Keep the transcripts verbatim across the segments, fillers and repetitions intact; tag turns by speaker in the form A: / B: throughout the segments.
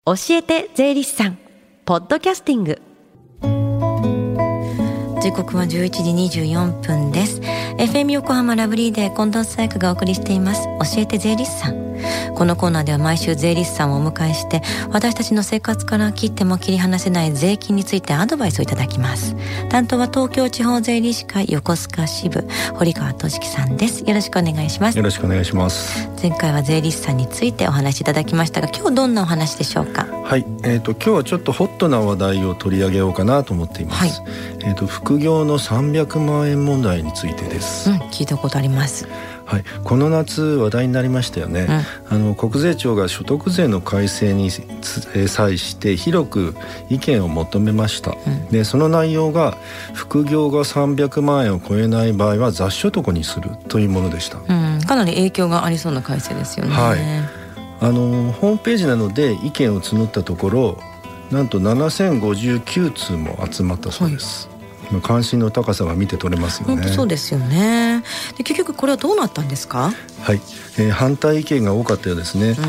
A: 教えて税理士さんポッドキャスティング。
B: 時刻はじゅういちじにじゅうよんぷんです。 エフエム 横浜ラブリーで近藤紗友香がお送りしています教えて税理士さん。このコーナーでは毎週税理士さんをお迎えして私たちの生活から切っても切り離せない税金についてアドバイスをいただきます。担当は東京地方税理士会横須賀支部堀川俊樹さんです。よろしくお願いします。
C: よろしくお願いします。
B: 前回は税理士さんについてお話しいただきましたが、今日どんなお話でしょうか。
C: はい、えーと、今日はちょっとホットな話題を取り上げようかなと思っています、はいえーと、副業のさんびゃくまんえん問題についてです、
B: うん、聞いたことあります。
C: はい、この夏話題になりましたよね、うん、あの国税庁が所得税の改正に際して広く意見を求めました、うん、でその内容が副業がさんびゃくまんえんを超えない場合は雑所得にするというものでした、
B: うん、かなり影響がありそうな改正ですよね。
C: はい、あのホームページなどで意見を募ったところなんとななせんごじゅうきゅうつうも集まったそうです、はい関心の高さが見て取れますよね。
B: 本当そうですよね。で結局これはどうなったんですか。
C: はい、えー、反対意見が多かったようですね、うん、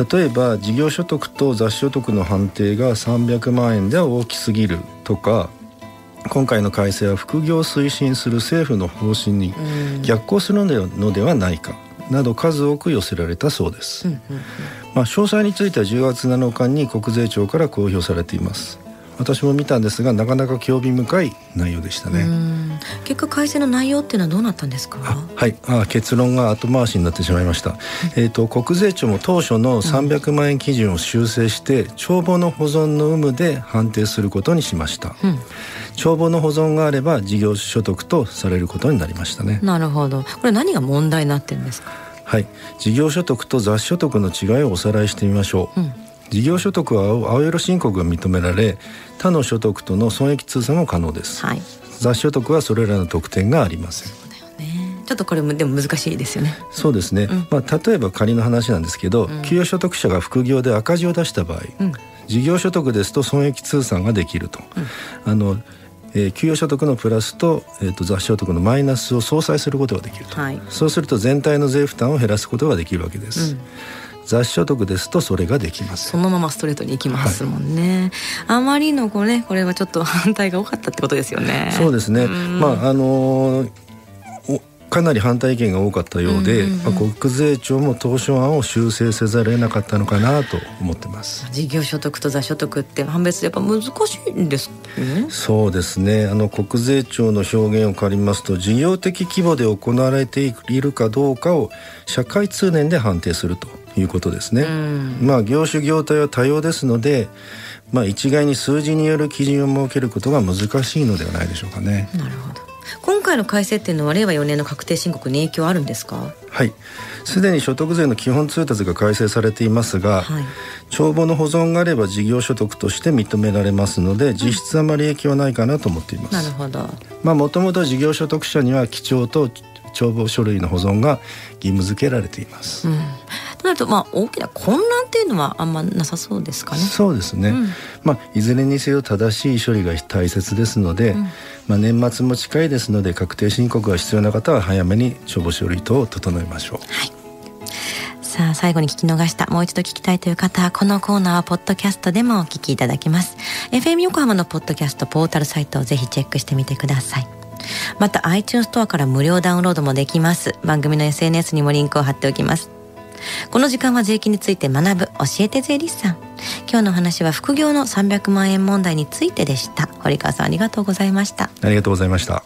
C: 例えば事業所得と雑所得の判定がさんびゃくまんえんでは大きすぎるとか、今回の改正は副業を推進する政府の方針に逆行するのではないかなど数多く寄せられたそうです、うんうんうんまあ、詳細についてはじゅうがつなのかに国税庁から公表されています。私も見たんですがなかなか興味深い内容でしたね。
B: うん結果改正の内容っていうのはどうなったんですか。
C: あ、はいあ結論が後回しになってしまいました、うんえー、と国税庁も当初のさんびゃくまんえん基準を修正して、うん、帳簿の保存の有無で判定することにしました、うん、帳簿の保存があれば事業所得とされることになりましたね。
B: なるほど。これ何が問題になってるんですか。
C: はい、事業所得と雑所得の違いをおさらいしてみましょう、うん事業所得は青色申告が認められ他の所得との損益通算も可能です、はい、雑所得はそれらの特典がありません。
B: そうだよね。ちょっとこれもでも難しいですよね。
C: そうですね、うんまあ、例えば仮の話なんですけど、うん、給与所得者が副業で赤字を出した場合、うん、事業所得ですと損益通算ができると、うん、あのえー、給与所得のプラスと、えー、と雑所得のマイナスを相殺することができると、はい、そうすると全体の税負担を減らすことができるわけです、うん雑所得ですとそれができます。
B: そのままストレートに行きますもんね、はい、あまりのこれ、ね、これはちょっと反対が多かったってことですよね。
C: そうですね、まああのー、かなり反対意見が多かったようで、うんうんうんまあ、国税庁も当初案を修正せざるを得なかったのかなと思ってます。
B: 事業所得と雑所得って判別やっぱ難しいんですね。
C: そうですねあの国税庁の表現を借りますと事業的規模で行われているかどうかを社会通念で判定するということですね、うんまあ、業種業態は多様ですので、まあ、一概に数字による基準を設けることが難しいのではないでしょうかね。
B: なるほど。今回の改正っていうのは令和よねんの確定申告に影響あるんですか。
C: はいすでに所得税の基本通達が改正されていますが、はい、帳簿の保存があれば事業所得として認められますので実質あまり影響はないかなと思っています、
B: うん、なるほど。
C: まあもともと事業所得者には記帳と帳簿書類の保存が義務付けられています、うん
B: となるとまあ大きな混乱っていうのはあんまなさそうですかね。
C: そうですね、うんまあ、いずれにせよ正しい処理が大切ですので、うんまあ、年末も近いですので確定申告が必要な方は早めに帳簿書類等を整えましょう。
B: はいさあ最後に聞き逃したもう一度聞きたいという方はこのコーナーはポッドキャストでもお聞きいただけます。 エフエム 横浜のポッドキャストポータルサイトをぜひチェックしてみてください。また iTunes ストアから無料ダウンロードもできます。番組の エスエヌエス にもリンクを貼っておきます。この時間は税金について学ぶ教えて税理士さん。今日の話は副業のさんびゃくまんえん問題についてでした。堀川さんありがとうございました。
C: ありがとうございました。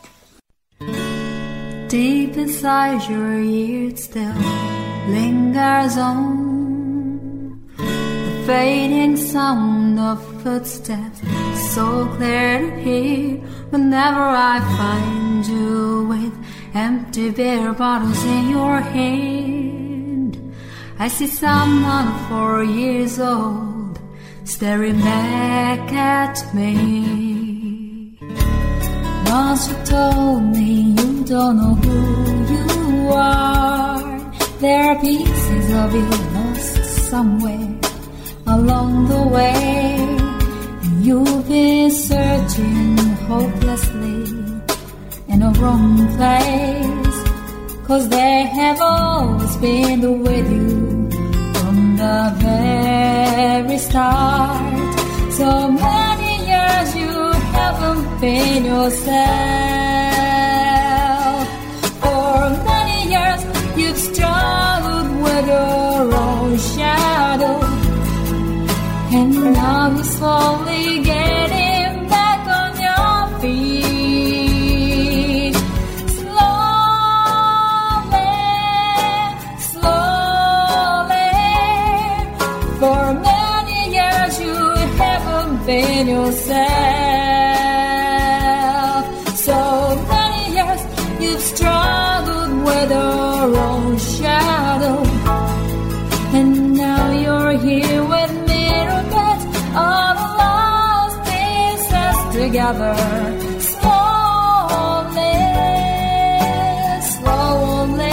D: Deep inside your ears still lingers on the fading sound of footsteps, so clear to hear whenever I find you with empty beer bottles in your hand. I see someone four years old staring back at me. Once you told me you don't know who you are. There are pieces of you lost somewhere along the way. You've been searching hopelessly in a wrong place, 'cause they have always been with you from the the very start. So many years you haven't been yourself. For many years you've struggled with your own shadow, and now you're slowly getting back on your feet. Slowly, slowly. For many years you haven't been yourself. So many years you've struggled with your own shadow, and now you're here with me to put all the lost pieces together. Slowly, slowly,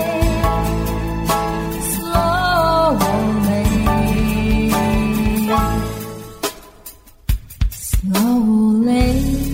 D: slowly, slowly.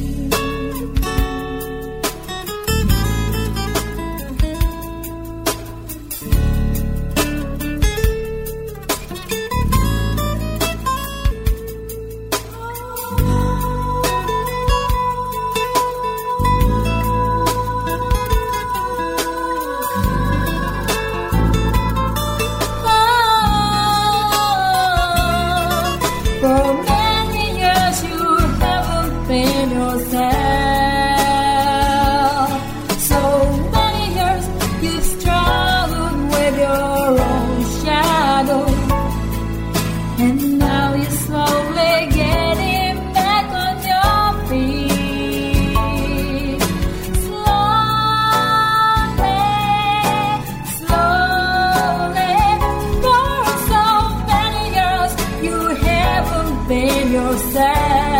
D: For many years you haven't been yourself. So many years you've struggled with your own shadow, and now you're slowly getting back on your feet. Slowly, slowly. For so many years you haven't been yourself.